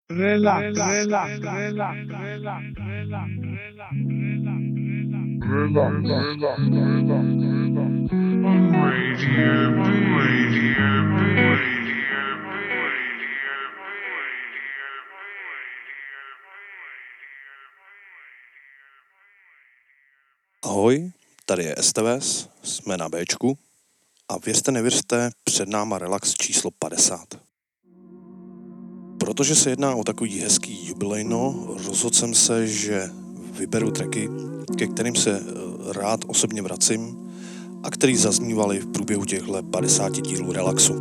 Relax. Ahoj, tady je STVS, jsme na Bčku a věřte nevěřte, před náma relax číslo 50. Protože se jedná o takový hezký jubilejno, rozhodl jsem se, že vyberu tracky, ke kterým se rád osobně vracím a který zaznívaly v průběhu těchto 50 dílů relaxu.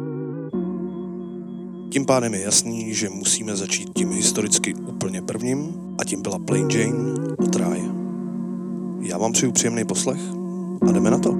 Tím pádem je jasný, že musíme začít tím historicky úplně prvním a tím byla Plain Jane od Rai. Já vám přeju příjemný poslech a jdeme na to.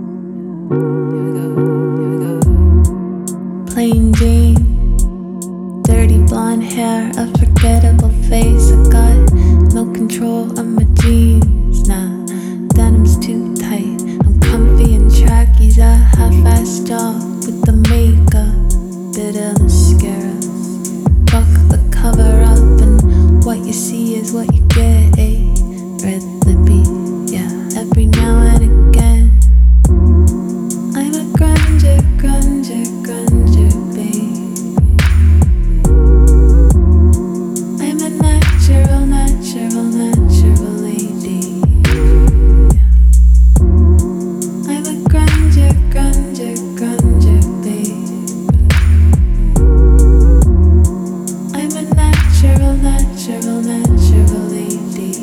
Plain Jane, dirty blonde hair, a forgettable face. I got no control of my jeans. Nah, denim's too tight. I'm comfy in trackies, a half-assed job with the makeup, bit of mascara. Fuck the cover up, and what you see is what you get. Red lippy, yeah. Every now and again, I'm a grunge, babe. I'm a natural lady. I'm a grunge, babe. I'm a natural lady.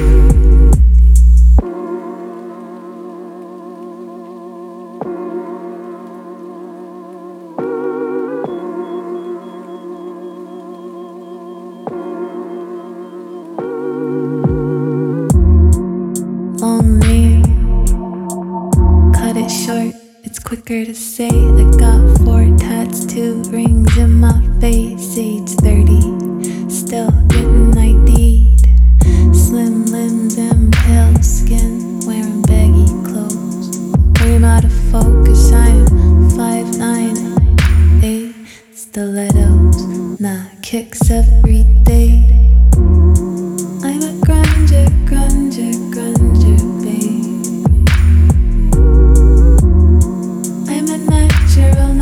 Long nail, cut it short, it's quicker to say. I got 4 tats, 2 rings in my face. Age 30, still getting ID'd. Slim limbs and pale skin, wearing baggy clothes. I'm out of focus, I am 5'9", 8 stilettos, nah, kicks every day. I'm a grunge, babe. I'm a natural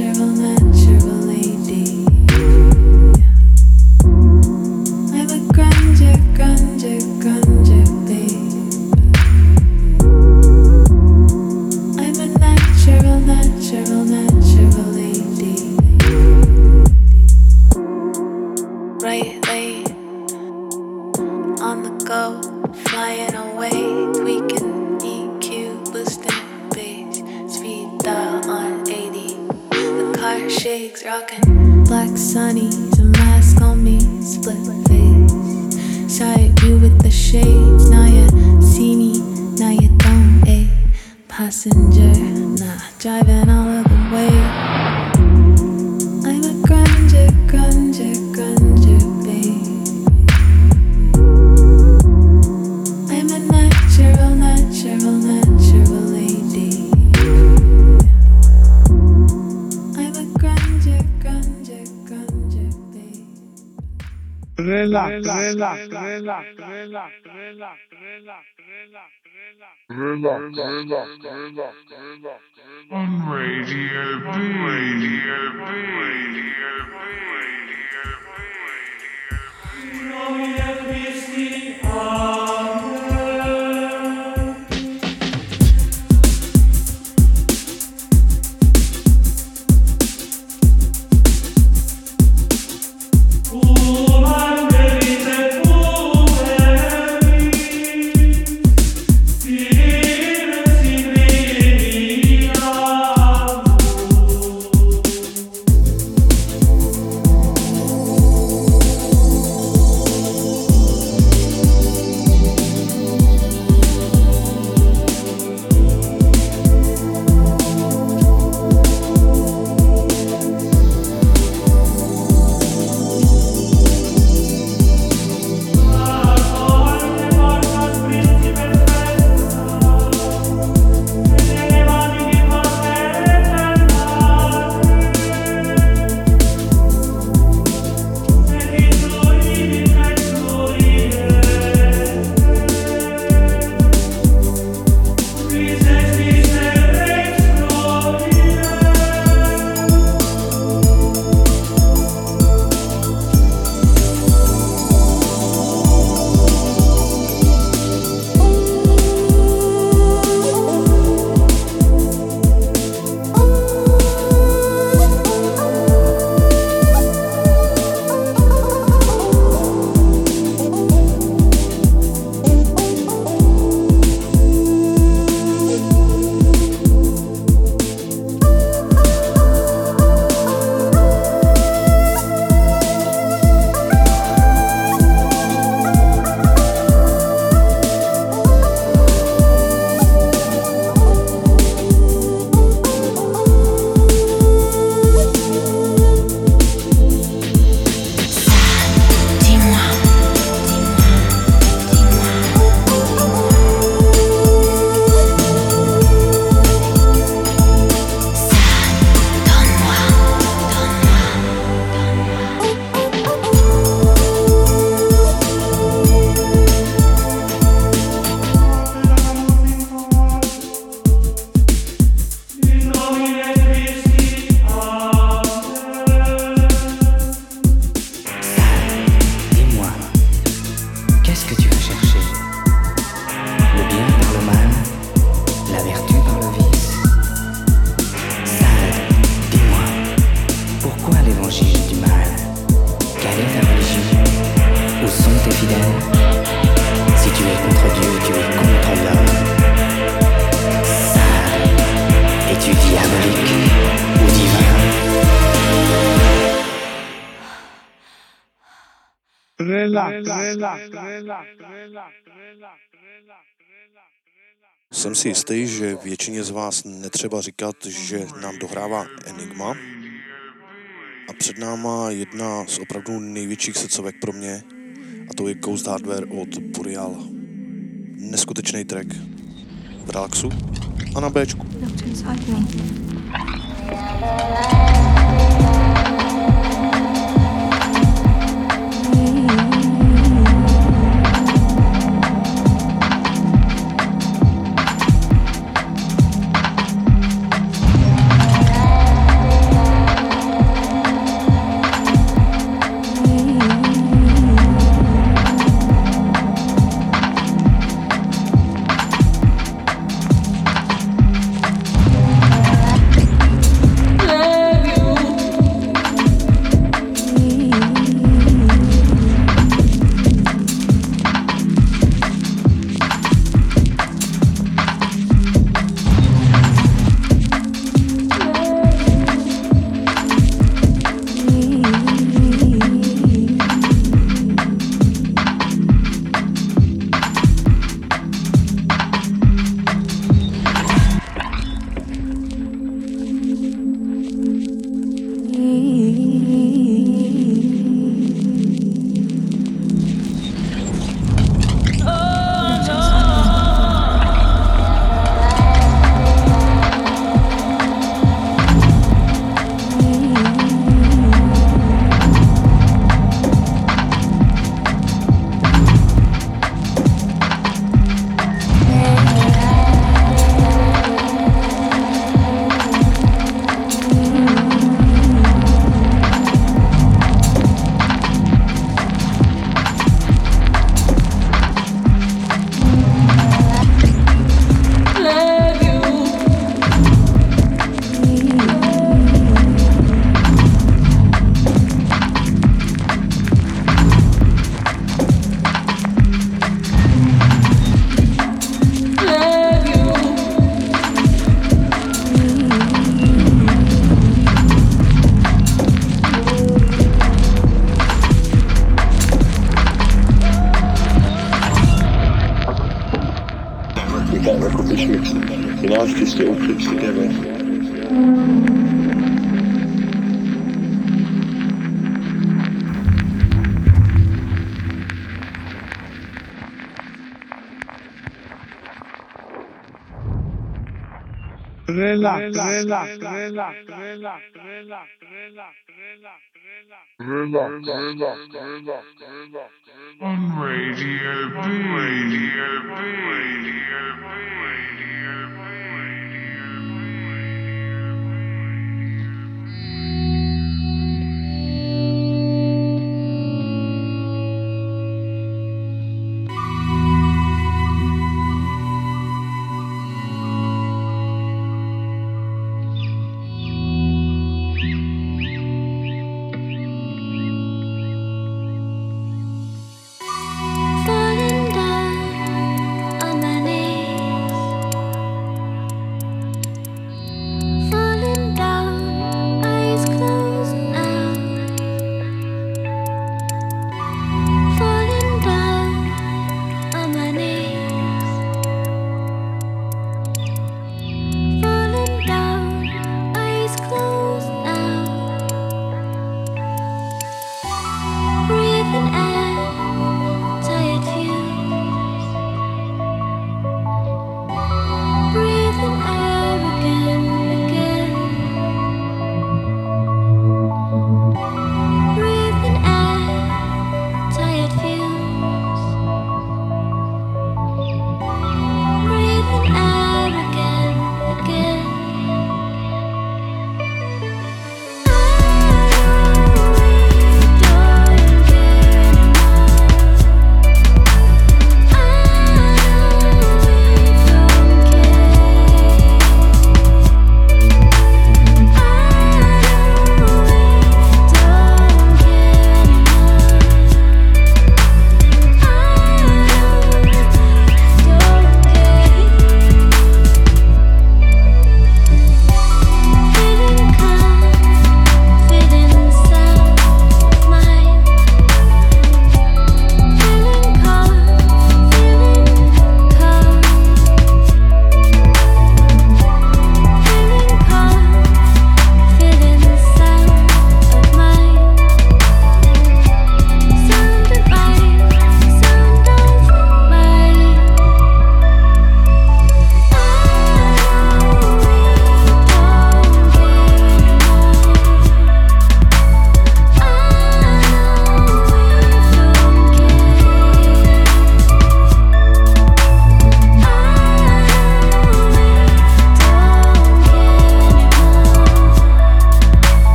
lady. I'm a grunge, babe. I'm a natural lady. Right lane, on the go, flying away, tweaking EQ, boosting bass, speed dial on 80. The car shakes, rocking black sunnies, a mask on me, split face. Side view with the shades, now you see me, now you don't. Passenger, nah, driving all of the way. I'm a grunge, babe. I'm a natural lady. I'm a grunge, babe. Relax. On Radio fidèle. Si tu es contre Dieu, tu es contre l'homme. Sale es-tu diabolique ou divin? Jsem si jistý, že většině z vás netřeba říkat, že nám dohrává Enigma. A před náma jedna z opravdu největších srdcovek pro mě, a to je Ghost Hardware od Boreal. Neskutečný track v relaxu a na Bčku. On Radio B. Falling down on my knees.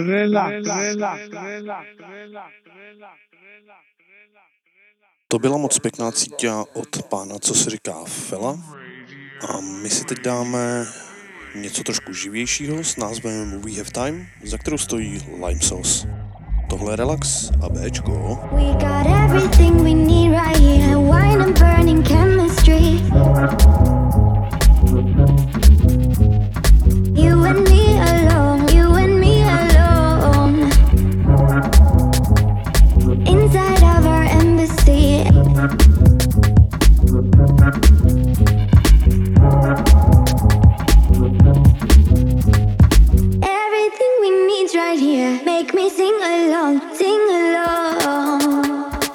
To byla moc pěkná cítia od pána, co se říká Fela. A my si teď dáme něco trošku živějšího s názvem We Have Time, za kterou stojí Lime Sauce. Tohle je Relax a Bčko. We got everything we need right here. Wine and burning chemistry. You and me alone. You and me alone. Inside of our embassy. Everything we need's right here. Make me sing along, sing along.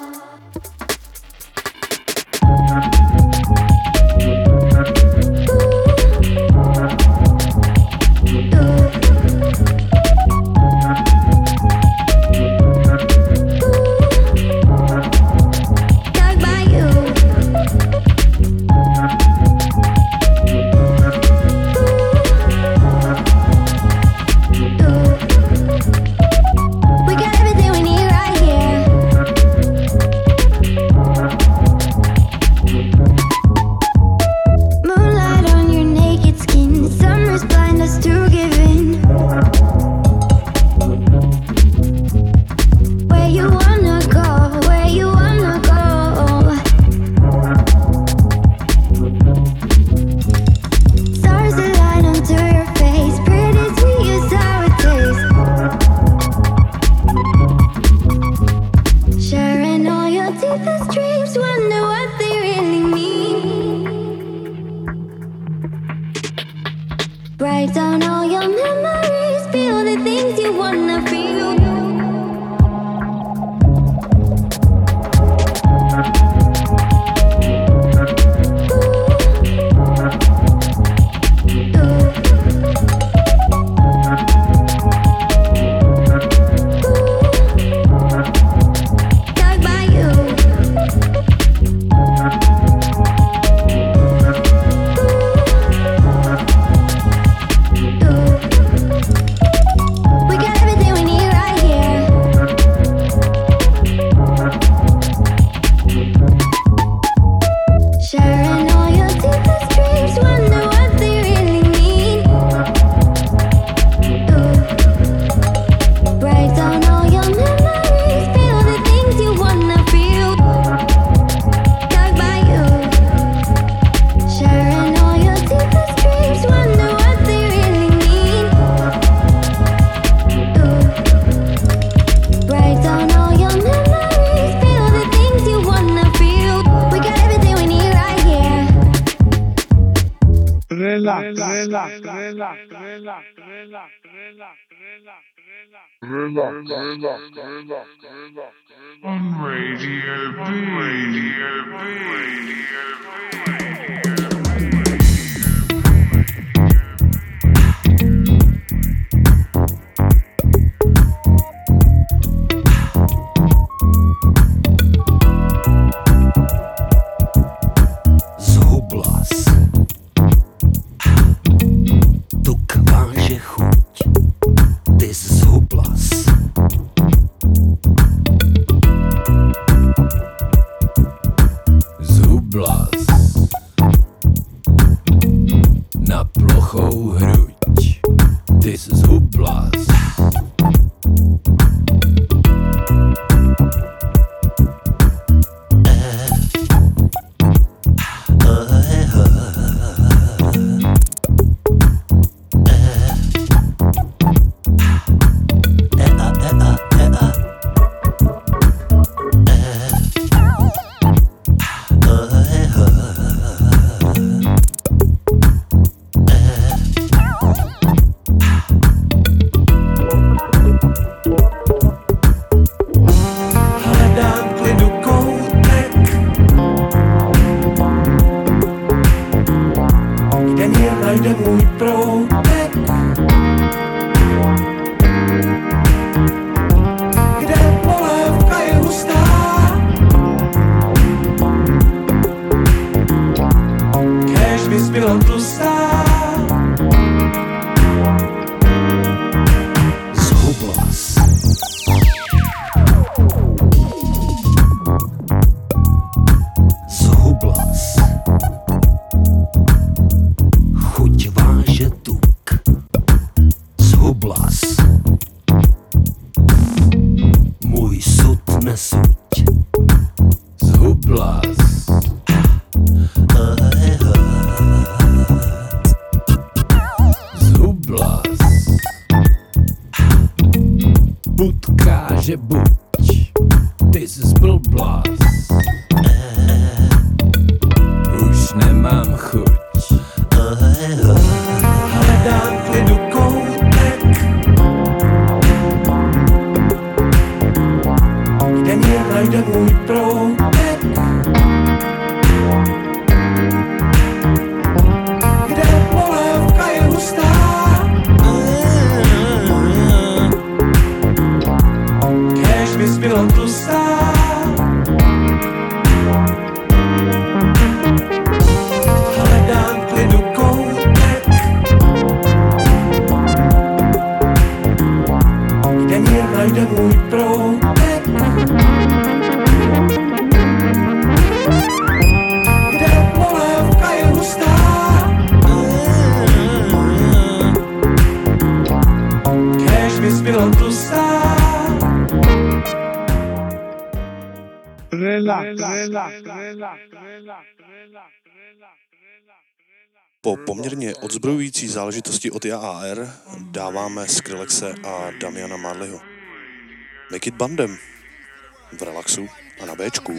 Write down all your memories, feel the things you wanna feel. On Radio B. Radio B. Radio Zhubla že buď ty jsi blblás, už nemám chuť, hledám klidu koutek, kde mě najde můj proutek, kde polévka je hustá, kéž mi zbyla tlustá. Hledám klidu koutek, kde mě najde můj proutek, kde polévka je hustá, kéž mi zbyla tlustá. Po poměrně odzbrojující záležitosti od JAR dáváme Skrillexe a Damiana Marleyho. Make it bandem. V relaxu a na Bčku.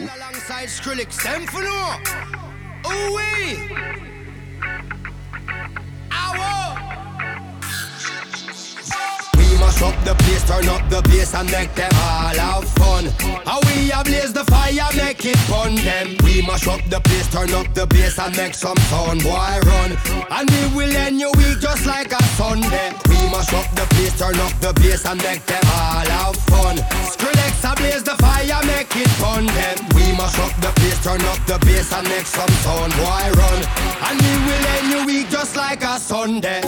Mash up the place, turn up the bass and make them all have fun. How we ablaze the fire, make it fun them. We mash up the place, turn up the bass and make some sound, boy run. And we will end your week just like a Sunday. We mash up the place, turn up the bass and make them all have fun. Skrillex ablaze the fire, make it fun them. We mash up the place, turn up the bass and make some sound, boy run. And we will end your week just like a Sunday.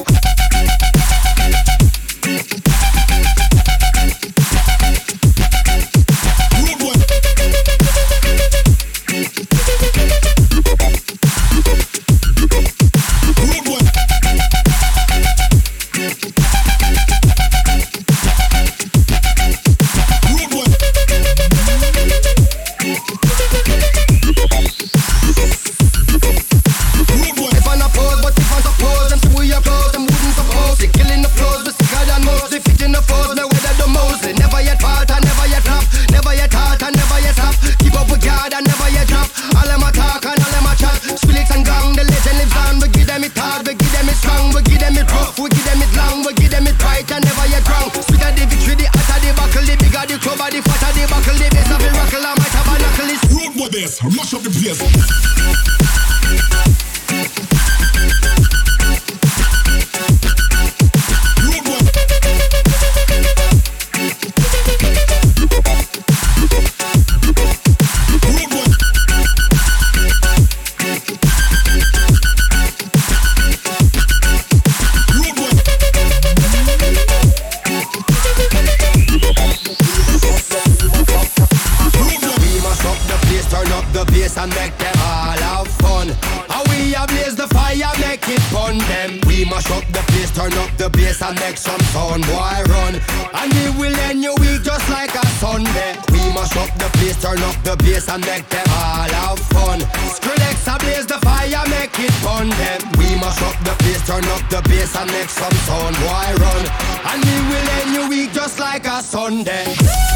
Mash up the place. And make them all have fun. How we ablaze the fire, make it fun them. We mash up the place, turn up the bass and make some sound, boy run. And we will end your week just like a Sunday. We mash up the place, turn up the bass and make them all have fun. Skrillex ablaze the fire, make it fun them. We mash up the place, turn up the bass and make some sound, boy run. And we will end your week just like a Sunday.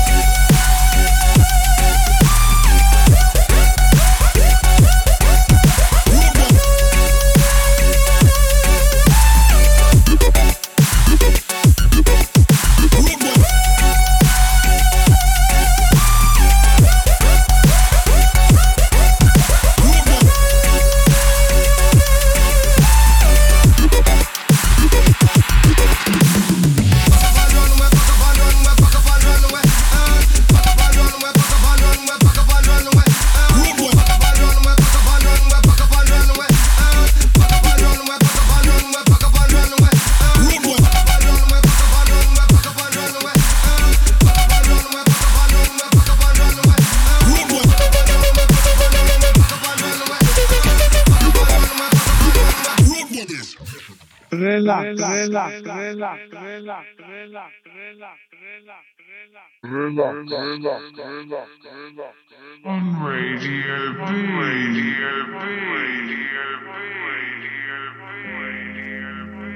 On Radio B. Radio B. Radio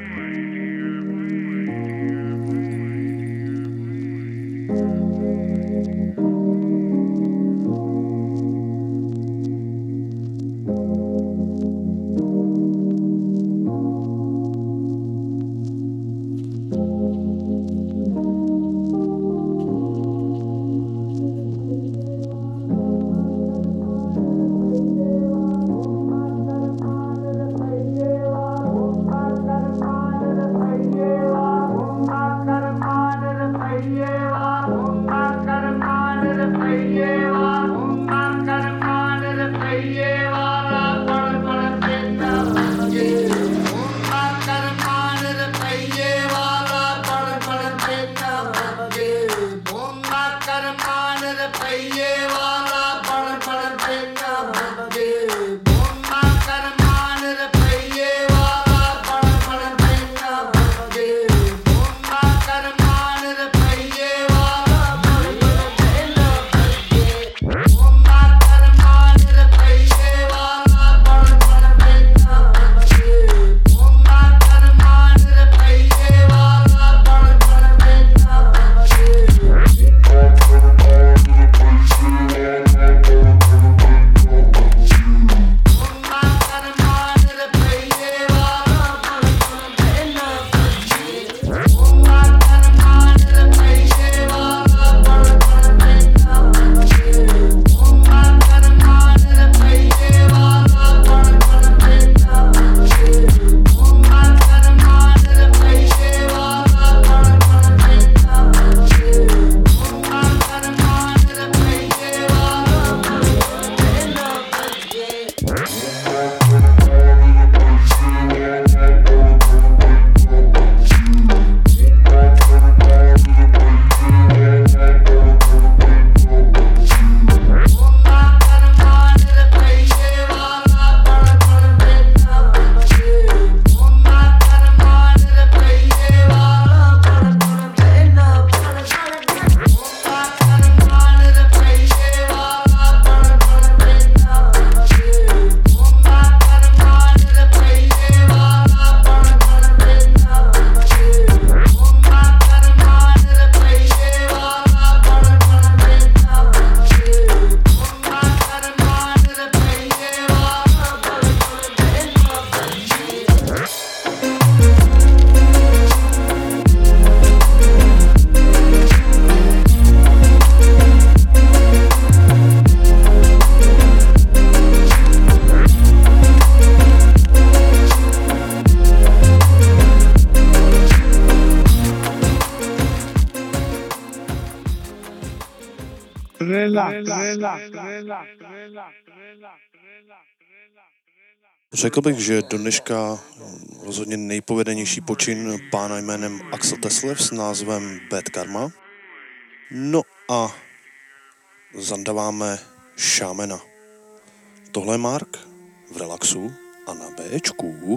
B. Řekl bych, že do dneška rozhodně nejpovedenější počin pána jménem Axel Teslev s názvem Bad Karma. No a zandaváme Šámena. Tohle je Mark v relaxu a na Bčku.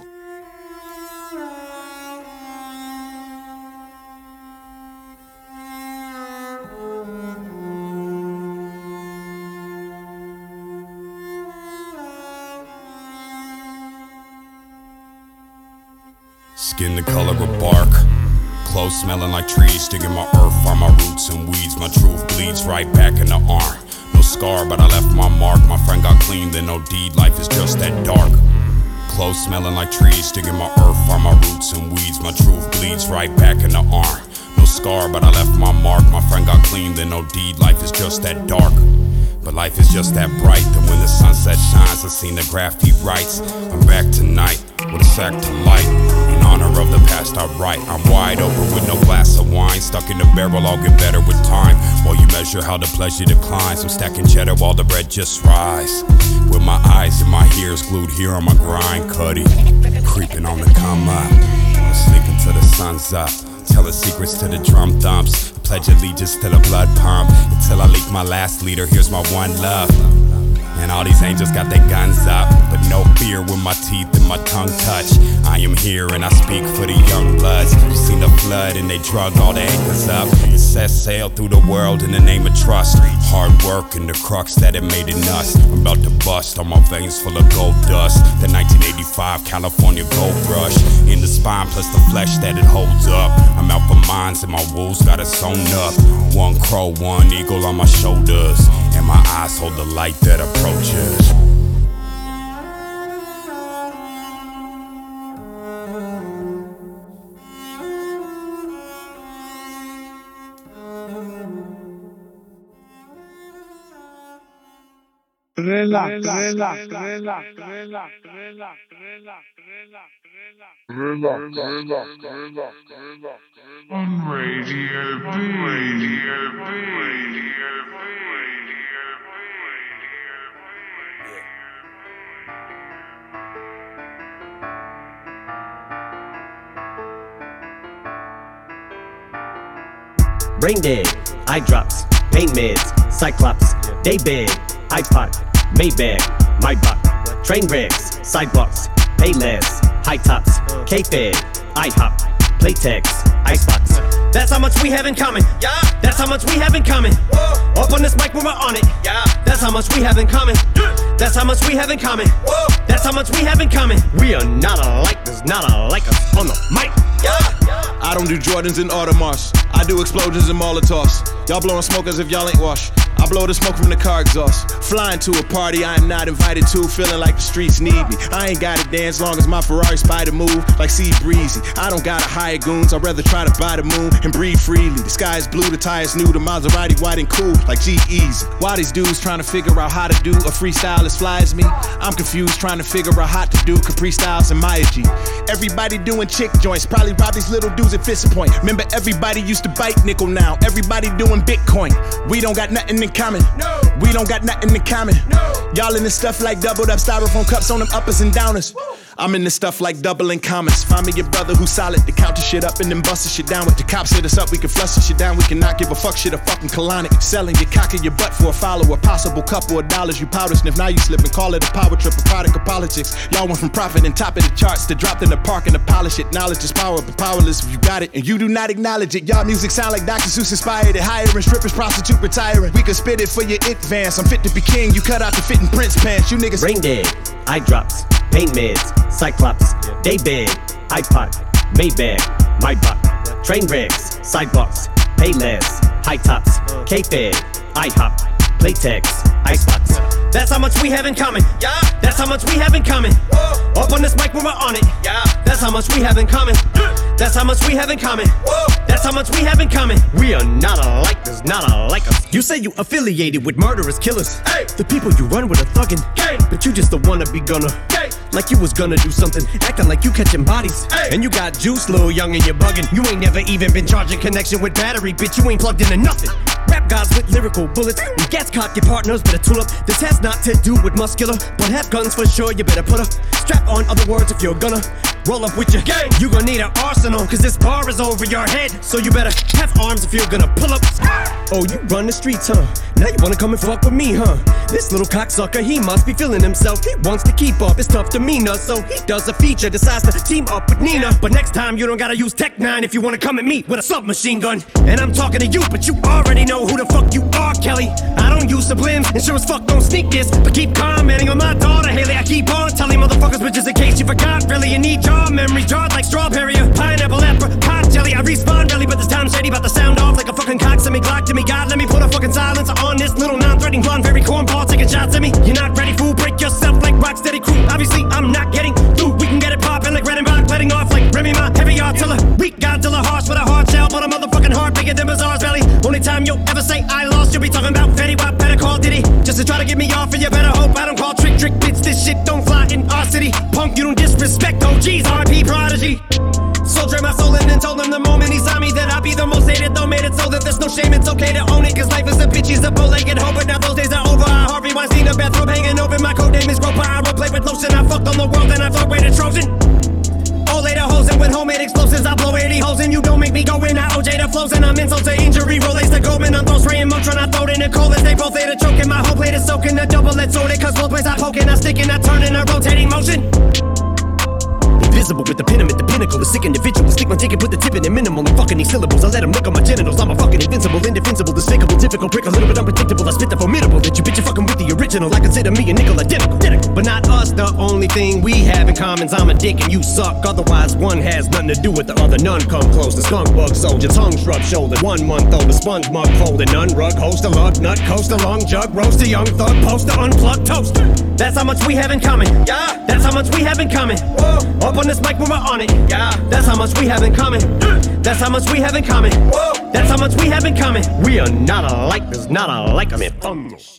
Skin the color of bark, clothes smelling like trees, digging my earth, find my roots and weeds. My truth bleeds right back in the arm. No scar, but I left my mark. My friend got clean, then no deed. Life is just that dark. Clothes smelling like trees, digging my earth, find my roots and weeds. My truth bleeds right back in the arm. No scar, but I left my mark. My friend got clean, then no deed. Life is just that dark. But life is just that bright, that when the sunset shines, I've seen the graffiti writes. I'm back tonight with a sack to light. In honor of the past I write, I'm wide open with no glass of wine. Stuck in the barrel, I'll get better with time. While you measure how the pleasure declines, I'm stacking cheddar while the bread just rise. With my eyes and my ears glued here on my grind, Cuddy creeping on the come up. I'm sleeping till the sun's up, telling secrets to the drum thumps. Pledge allegiance to the blood pump until I leak my last leader. Here's my one love. And all these angels got their guns up, but no fear when my teeth and my tongue touch. I am here and I speak for the young bloods. You seen the flood and they drug all the anchors up and set sail through the world in the name of trust. Hard work and the crux that it made in us. I'm about to bust, all my veins full of gold dust. The 1985 California gold rush in the spine plus the flesh that it holds up. I'm out for mines and my wolves got it sewn up. One crow, one eagle on my shoulders, and my eyes hold the light that approaches. On Radio B. Brain dead, eye drops, pain meds, Cyclops, day bed, iPod, Maybach, my buck, train wrecks, sidewalks, pay less, high tops, K-Fed, IHOP, Playtex, Icebox. That's how much we have in common. Yeah. That's how much we have in common. Whoa. Up on this mic when we're on it. Yeah. That's how much we have in common. Yeah. That's how much we have in common. Whoa. That's how much we have in common. We are not alike. There's not alike us on the mic. Yeah. I don't do Jordans and Audemars. I do explosions and Molotovs. Y'all blowing smoke as if y'all ain't washed. I blow the smoke from the car exhaust. Flying to a party I am not invited to, feeling like the streets need me. I ain't gotta dance long as my Ferrari spider move like Sea Breezy. I don't gotta hire goons, I'd rather try to buy the moon and breathe freely. The sky is blue, the tires new, the Maserati white and cool like G-Eazy. Why these dudes trying to figure out how to do a freestyle as fly as me? I'm confused trying to figure out how to do Capri Styles and Maya G. Everybody doing chick joints, probably rob these little dudes at Fist Point. Remember everybody used to bite nickel, now everybody doing Bitcoin. We don't got nothing in common. No. We don't got nothing in common. No. Y'all in this stuff like doubled up styrofoam cups on them uppers and downers. Woo. I'm in this stuff like doubling commas. Find me your brother who's solid to count the shit up and then bust the shit down. With the cops hit us up, we can flush the shit down. We cannot give a fuck shit a fucking colonic. Selling your cock in your butt for a follower. Possible couple of dollars you powder sniff. Now you slip and call it a power trip, a product of politics. Y'all went from profit and top of the charts to dropped in the park and to polish it. Knowledge is power, but powerless if you got it and you do not acknowledge it. Y'all music sound like Dr. Seuss inspired it. Hiring strippers, prostitute retiring. We could spit it for your it vans. I'm fit to be king, you cut out the fitting Prince pants. You niggas brain dead, eye drops, pain meds, Cyclops, day bed, iPod, Maybach, my buck, train wrecks, sidewalks, pay less, high tops, K-Fed, IHOP, Playtex, Icebox. That's how much we have in common. Yeah. That's how much we have in common. Whoa. Up on this mic when we're on it. Yeah. That's how much we have in common. That's how much we have in common. Whoa. That's how much we have in common. We are not alike. There's not alike us. You say you affiliated with murderous killers. Hey. The people you run with are thuggin'. Gang. But you just the wannabe gunner. Gang. like you was gonna do something, acting like you catching bodies. And you got juice, little young, and you're bugging. You ain't never even been charging connection with battery, bitch. You ain't plugged into nothing. Rap guys with lyrical bullets. When gas cock, your partners better tool up. This has not to do with muscular, but have guns for sure. You better put a strap on. Other words, if you're gonna roll up with your gang, you gonna need an arsenal, cause this bar is over your head. So you better have arms if you're gonna pull up. Oh, you run the streets, huh? Now you wanna come and fuck with me, huh? This little cocksucker, he must be feeling himself. He wants to keep up his tough demeanor, so he does a feature, decides to team up with Nina. But next time you don't gotta use Tech 9 if you wanna come at me with a submachine gun. And I'm talking to you, but you already know who the fuck you are, Kelly. I don't use sublims, and sure as fuck don't sneak this, but keep commenting on my daughter, Haley. I keep on telling motherfuckers, but just in case you forgot, really, you need jaw memory, jarred like strawberry or pineapple, apricot jelly. I respawn really, but this time shady, about to sound off like a fucking cock. Send me Glock to me, God, let me put a fucking silencer on this little non-threatening blonde, very cornball, taking shots at me. You're not ready, fool, break yourself like Rocksteady crew. Obviously, I'm not getting through. We can get it poppin' like Redenbach, letting off like Remy Ma, heavy artillery. Weak Godzilla, harsh with a hard shell, but a motherfucking heart bigger than Bazaar's belly. Only time you'll ever say I lost, you'll be talking about Fetty Wap, better call Diddy, just to try to get me off, and you better hope I don't call trick bits. This shit don't fly in our city. Punk, you don't disrespect OGs, RP Prodigy. So drain my soul in and told him the moment he saw me that I'd be the most hated, though made it so that there's no shame, it's okay to own it, cause life is a bitch, he's a bow-legged hoe, but now those days are over. I Harvey Weinstein, a bathrobe hanging open, my code name is Groper, I roleplay with lotion, I fucked on the world and I thought way to Trojan. Oh, later hoes and with homemade explosives, I blow 80 holes and you don't make me go in. I OJ the flows and I'm insult to injury, Rolex the Goldman, I'm throw spraying Motron, I throw it in the cold as they both later choking. My whole plate is soaking, the double-edged sword, cause both ways I poke and I stick and I turn in a rotating motion. Invisible with the pin, I'm at the pinnacle, a sick individual. Stick my ticket, put the tip in it minimal. I'm fucking these syllables, I let them look on my genitals. I'm a fucking invincible, indefensible, despicable, difficult prick, a little bit unpredictable. I spit the formidable that you bitch, you fucking with the original. I consider me a nickel identical. But not us, the only thing we have in common is I'm a dick and you suck. Otherwise, one has nothing to do with the other. None come close. The skunk bug soldier, tongue shrub shoulder. 1 month old, the sponge mug folded. None rug, host a lug, nut, coast a long jug, roast a young thug, poster, unplugged toaster. That's how much we have in common. Yeah, that's how much we have in common. Whoa, up on this mic when we're on it. Yeah, that's how much we have in common. That's how much we have in common. Whoa, that's how much we have in common. We are not alike, there's not alike. I mean, fun shit.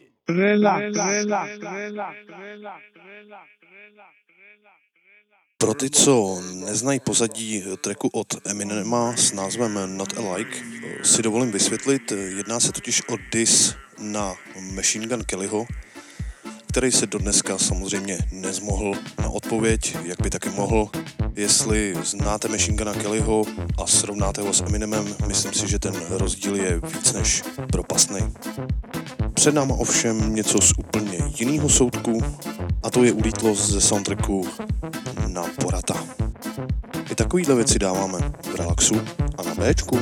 Pro ty, co neznají pozadí tracku od Eminema s názvem Not Alike, si dovolím vysvětlit. Jedná se totiž o diss na Machine Gun Kellyho, který se dodneska samozřejmě nezmohl na odpověď, jak by taky mohl. Jestli znáte Machine Guna Kellyho a srovnáte ho s Eminemem, myslím si, že ten rozdíl je víc než propastný. Před náma ovšem něco z úplně jiného soudku, a to je ulítlost ze soundtracku na Borata. I takovýhle věci dáváme v relaxu a na Bčku.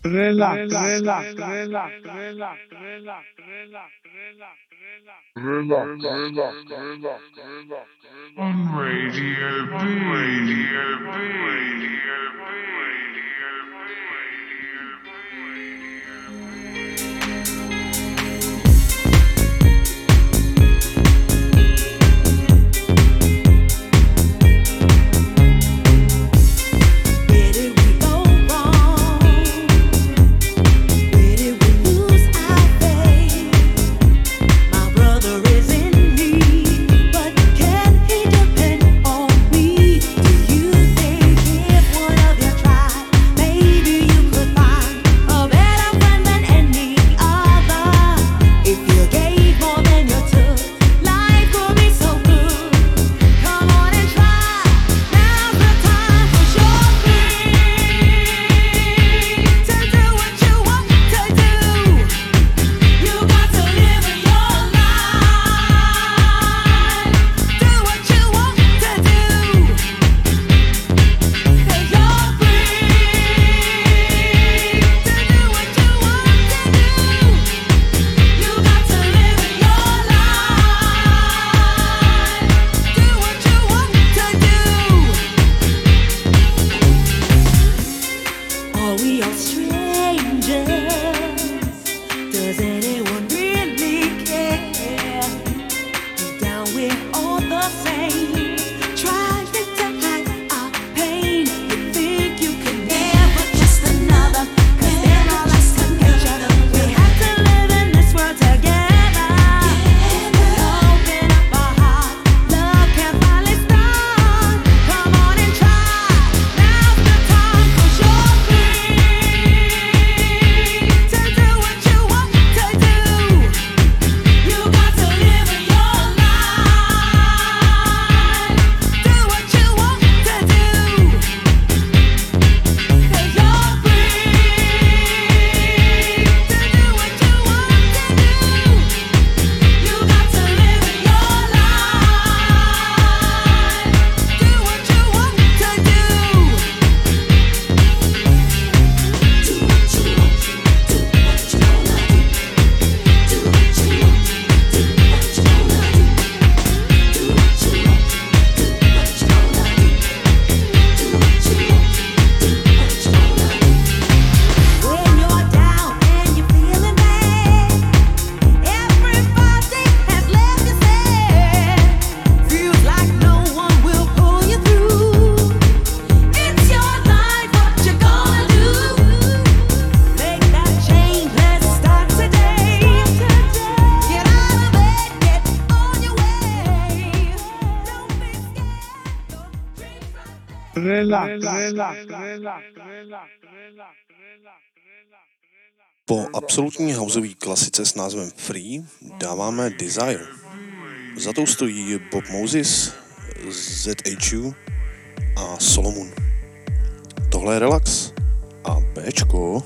On Radio B. Radio B. Radio Po absolutní houseové klasice s názvem Free dáváme Desire. Za tou stojí Bob Moses, ZHU a Solomon. Tohle je Relax a Bčko.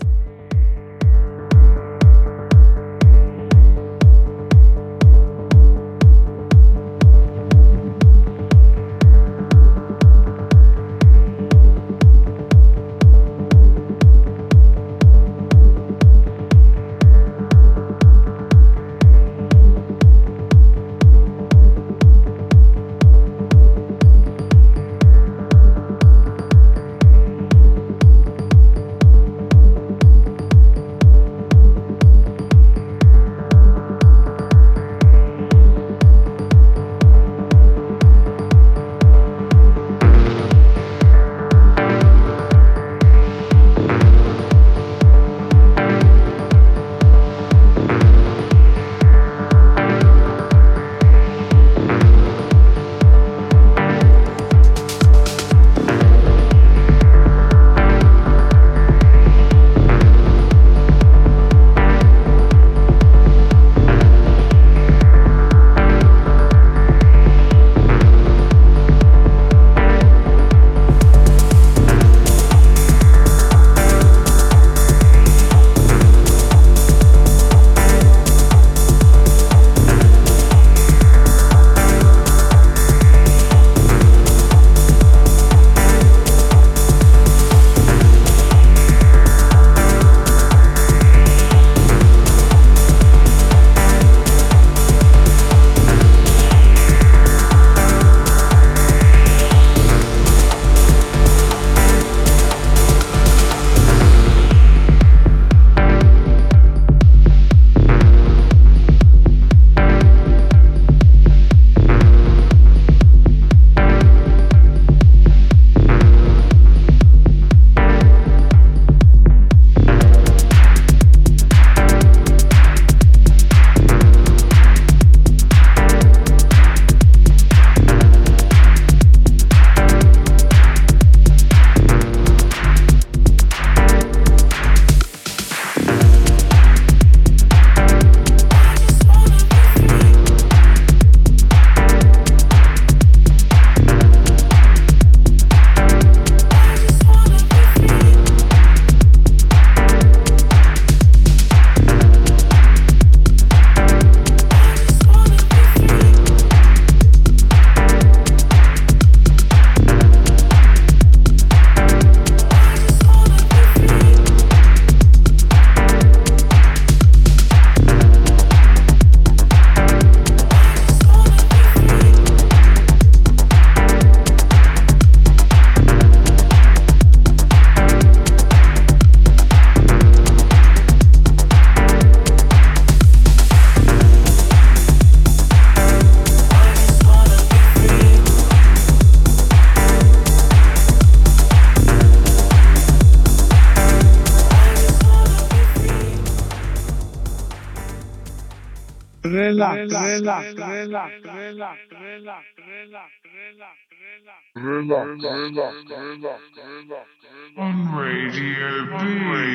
On Radio B.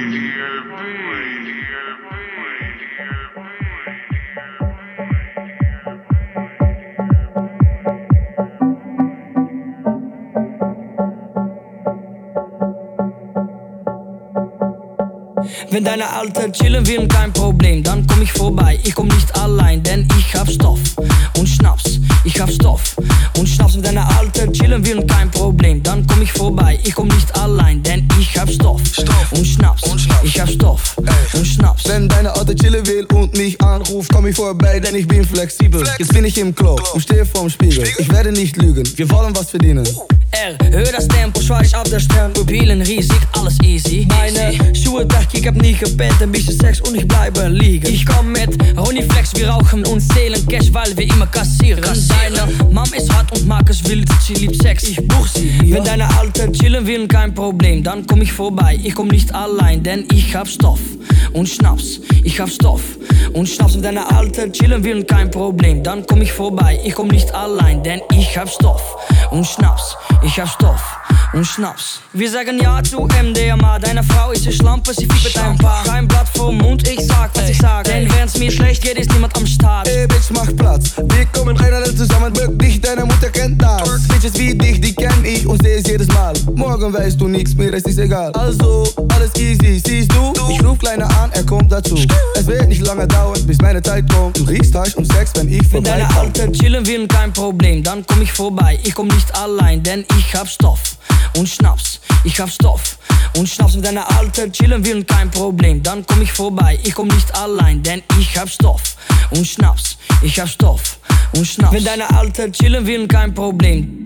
Wenn deine Alte chillen will, kein Problem, dann komm ich vorbei. Ich komm nicht allein, denn ich hab Stoff und Schnaps. Ich hab Stoff und Schnaps. Wenn deine Alte chillen will, kein Problem, dann komm ich vorbei. Ich komm nicht allein, denn ich hab Stoff und Schnaps. Ich hab Stoff und Schnaps. Wenn deine Alte chillen will und mich anruft, komm ich vorbei, denn ich bin flexibel. Jetzt bin ich im Klo und stehe vorm Spiegel. Ich werde nicht lügen, wir wollen was verdienen. Hör das Tempo, schweig auf der Stern. Pupillen riesig, alles easy. Meine Schuhe weg, ich hab nie gepennt. Ein bisschen Sex und ich bleibe liegen. Ich komm mit Ronnie Flex, wir rauchen und zählen Cash, weil wir immer kassieren. Deine Mom ist hart und mag es wild, sie liebt Sex, ich buch sie. Wenn deine Alte chillen will, kein Problem, dann komm ich vorbei. Ich komm nicht allein, denn ich hab Stoff und Schnaps. Ich hab Stoff und Schnaps. Wenn deine Alte chillen will, kein Problem, dann komm ich vorbei. Ich komm nicht allein, denn ich hab Stoff und Schnaps. Ich hab Stoff und Schnaps. Wir sagen ja zu MDMA. Deine Frau ist eine Schlampe, sie fiebt ein Paar. Kein Blatt vorm Mund, ich sag, was ich sag. Denn wenn's mir schlecht geht, ist niemand am Start. Ey, Bitch, mach Platz. Wir kommen rein zusammen, wirklich, deine Mutter kennt das. Bitches wie dich, die kenn ich und seh es jedes Mal. Morgen weißt du nichts, mir ist egal. Also, alles easy, siehst du? Ich ruf Kleiner an, er kommt dazu. Es wird nicht lange dauern, bis meine Zeit kommt. Du riechst Hasch und Sex, wenn ich vorbei. Wenn deine Alte chillen will, kein Problem, dann komm ich vorbei. Ich komm nicht allein, denn ich hab Stoff und Schnaps. Ich hab Stoff und Schnaps. Wenn deine Alte chillen will, kein Problem, dann komm ich vorbei. Ich komm nicht allein, denn ich hab Stoff und Schnaps. Ich hab Stoff und Schnaps. Wenn deine Alte chillen will, kein Problem.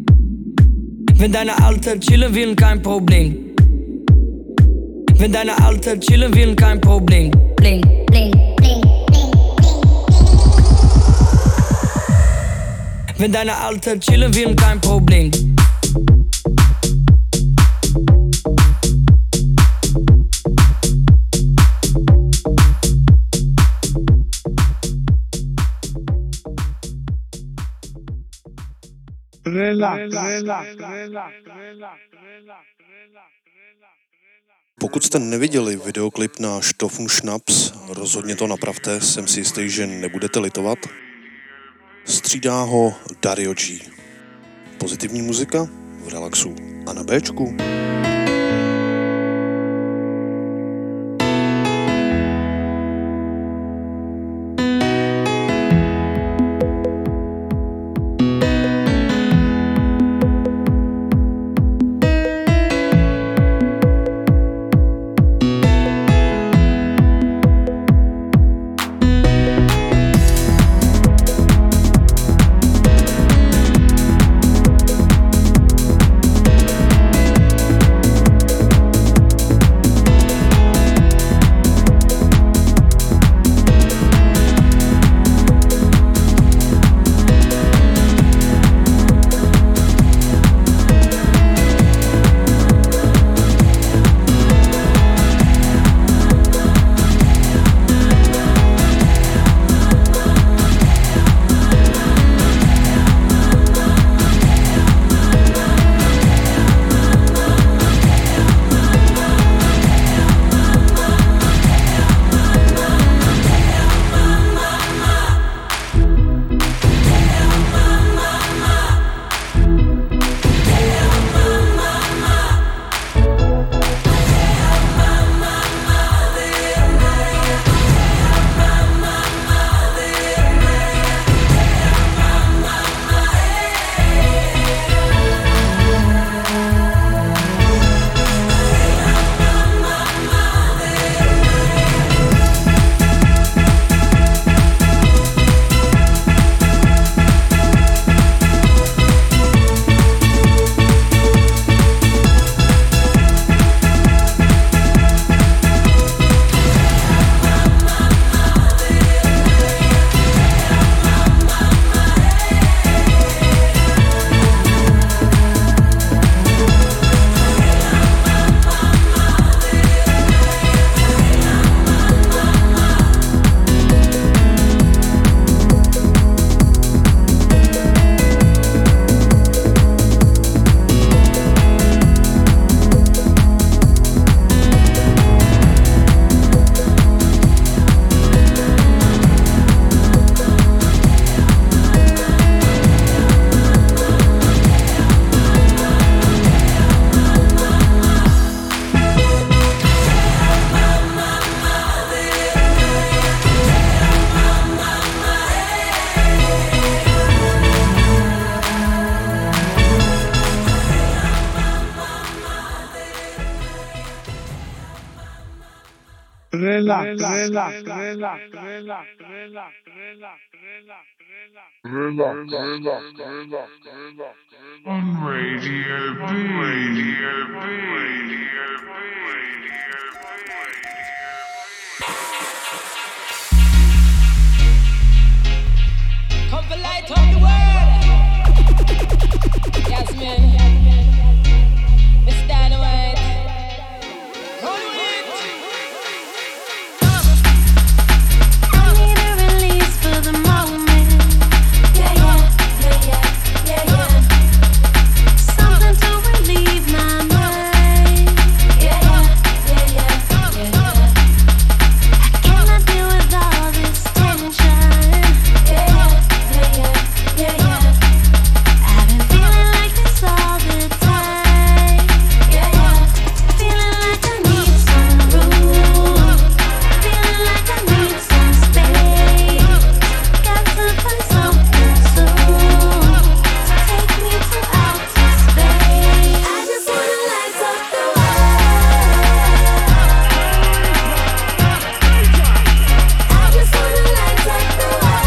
Wenn deine Alte chillen will, kein Problem. Wenn deine Alte chillen will, kein Problem. Bling, bling, bling, bling. Wenn deine Alte chillen will, kein Problem. Pokud jste neviděli videoklip na Stoff und Schnaps, rozhodně to napravte, jsem si jistý, že nebudete litovat. Střídá ho Dario G. Pozitivní muzika v relaxu a na Bčku. On Radio B. Come for light up the world. Yes, man. Mr. Dynamite. Run with it. I need a release for the moment. Yeah, yeah, yeah, yeah, yeah, yeah. Something to relieve my mind. Yeah, yeah, yeah, yeah, yeah, yeah. I cannot deal with all this tension. Yeah, yeah, yeah, yeah, yeah. I've been feeling like this all the time. Yeah, yeah. Feeling like I need some room. Feeling like I need some space. Got to find something soon to take me to outer space. I just wanna light up the world. I just wanna light up the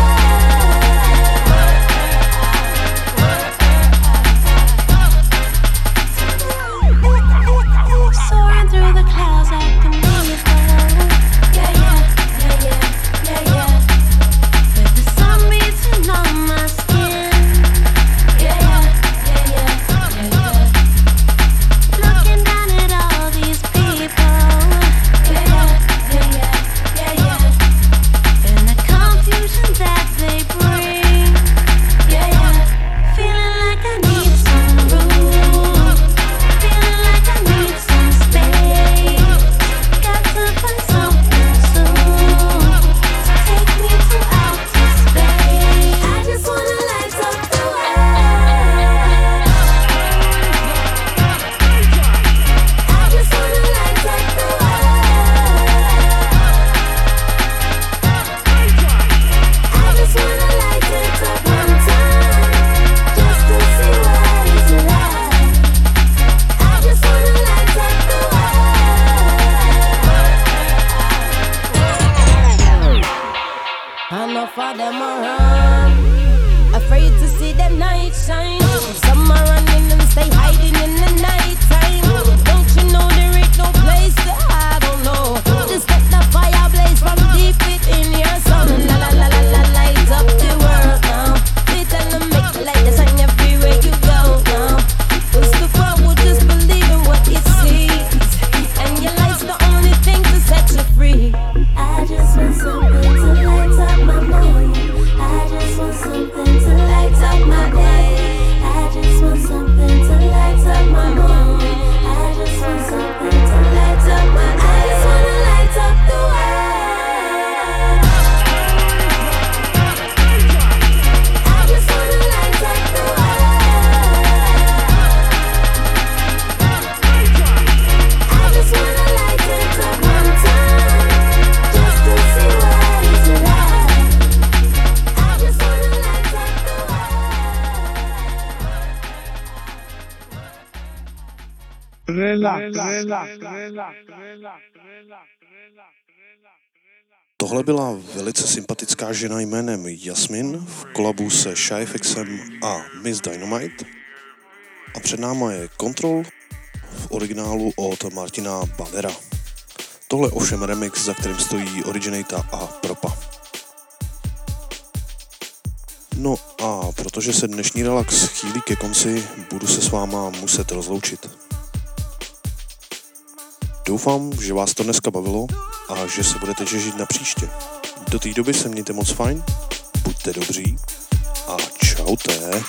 world. Soaring through the clouds like an eagle. Yeah, yeah, yeah, yeah, yeah, yeah. With the sun beating on my skin. Yeah, yeah, yeah, yeah, yeah, yeah. Looking down at all these people. Yeah, yeah, yeah, yeah, yeah, yeah. And the confusion that they bring. Yeah, yeah. Feeling like I need some room. Feeling like I need some space. Got to find something soon to take me to outer space. I just wanna light up the world. I just wanna light up the world. I just wanna light it up one time, just to see what it's like. I just wanna light up the world. Enough of them around, afraid to see the night shine. Some are running and stay hiding in the night time. Don't you know there ain't no place to hide? Oh no, just let the fire blaze from deep within your soul. La la la la la, light up the world now. They tell them make the light that shine everywhere you go now. 'Cause the world will just believe in what it sees, and your light's the only thing to set you free. I just want something to light up my morning. I just want something to light up my day. I just want something to light up my morning. I just want something to light up my day. I just wanna light up the world. I just wanna light up the world. I just wanna light it up one time, just to see what it's like. I just wanna light up the Tohle byla velice sympatická žena jménem Jasmin v kolabu se Shyfxem a Miss Dynamite. A před náma je Control v originálu od Martina Bavera. Tohle ovšem remix, za kterým stojí Originata a Propa. No a protože se dnešní relax chýlí ke konci, budu se s váma muset rozloučit. Doufám, že vás to dneska bavilo a že se budete těšit na příště. Do té doby se mějte moc fajn, buďte dobří a čaute.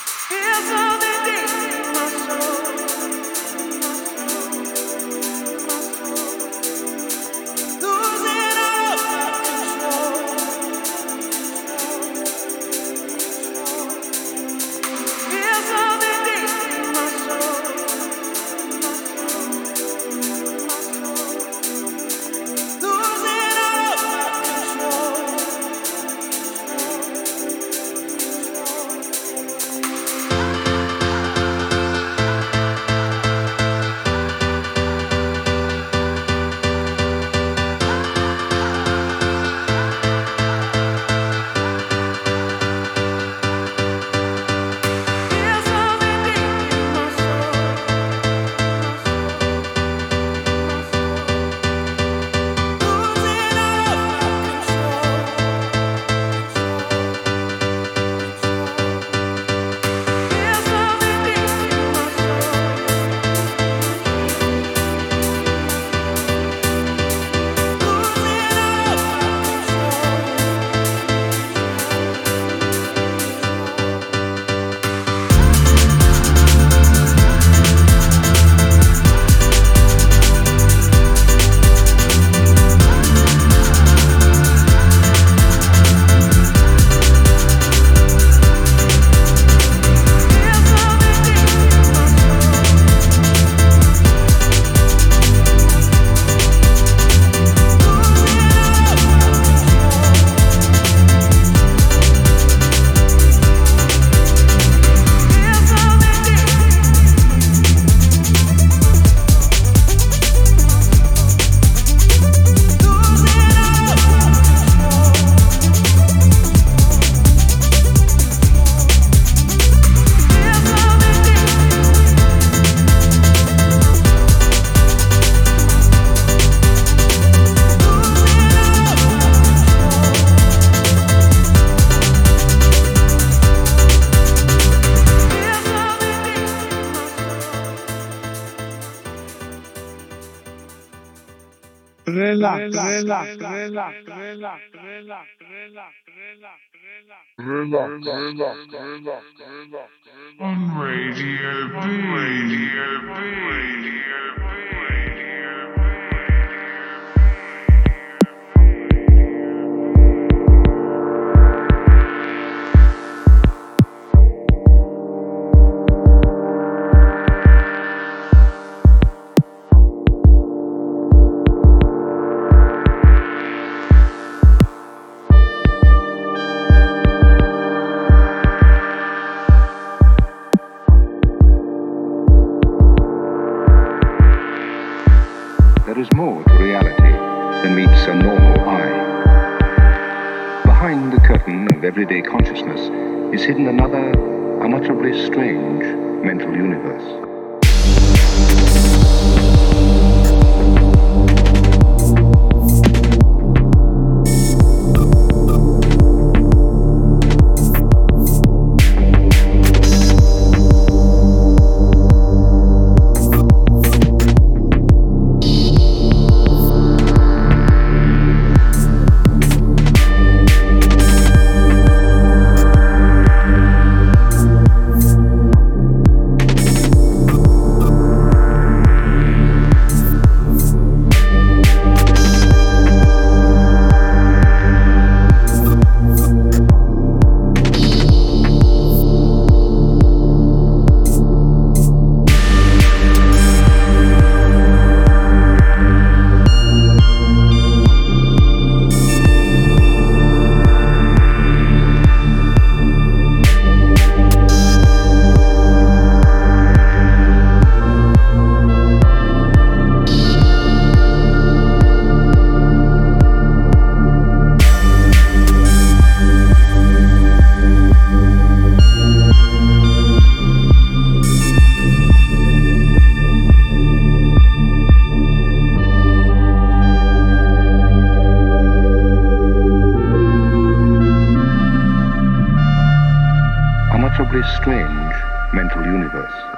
On Radio B. There is more to reality than meets a normal eye. Behind the curtain of everyday consciousness is hidden another, unutterably strange mental universe. Unutterably strange mental universe.